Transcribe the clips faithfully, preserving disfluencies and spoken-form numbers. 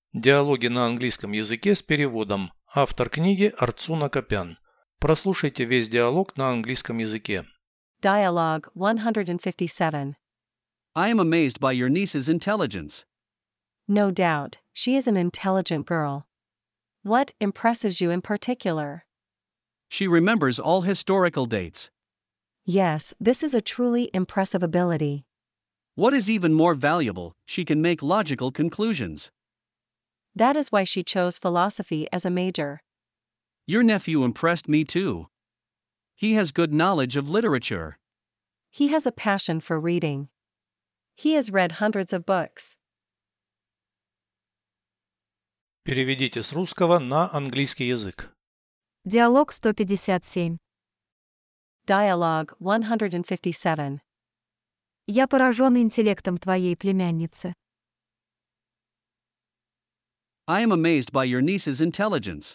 Диалоги на английском языке с переводом. Автор книги Арцуна Копян. Прослушайте весь диалог на английском языке. Dialogue one fifty-seven. I am amazed by your niece's intelligence. No doubt, she is an intelligent girl. What impresses you in particular? She remembers all historical dates. Yes, this is a truly impressive ability. What is even more valuable, she can make logical conclusions. That is why she chose philosophy as a major. Your nephew impressed me too. He has good knowledge of literature. He has a passion for reading. He has read hundreds of books. Переведите с русского на английский язык. Диалог сто пятьдесят семь. Dialogue one fifty-seven. Я поражен интеллектом твоей племянницы. I am amazed by your niece's intelligence.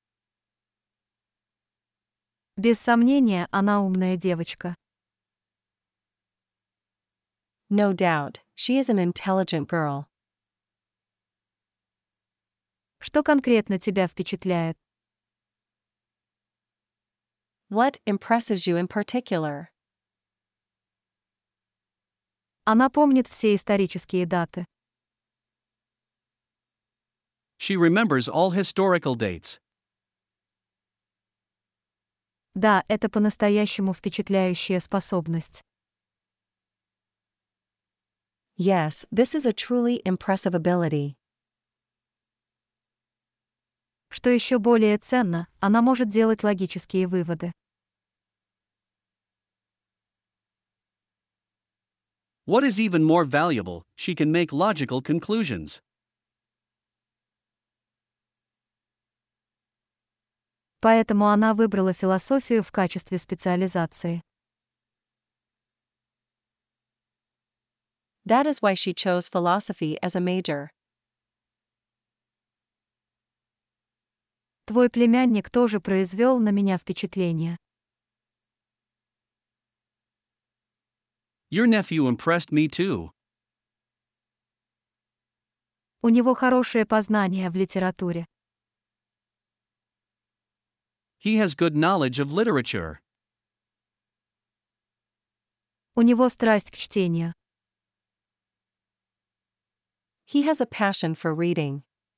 Без сомнения, она умная девочка. No doubt, she is an intelligent girl. Что конкретно тебя впечатляет? What impresses you in particular? Она помнит все исторические даты. She remembers all historical dates. Да, это по-настоящему впечатляющая способность. Yes, this is a truly impressive ability. Что еще более ценно, она может делать логические выводы. What is even more valuable, she can make logical conclusions. Поэтому она выбрала философию в качестве специализации. That is why she chose philosophy as a major. Твой племянник тоже произвел на меня впечатление. Your nephew impressed me too. У него хорошее познание в литературе. He has good knowledge of literature. У него страсть к чтению. He has a passion for reading.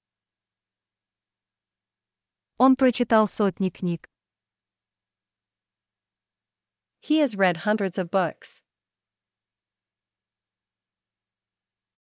Он прочитал сотни книг. He has read hundreds of books.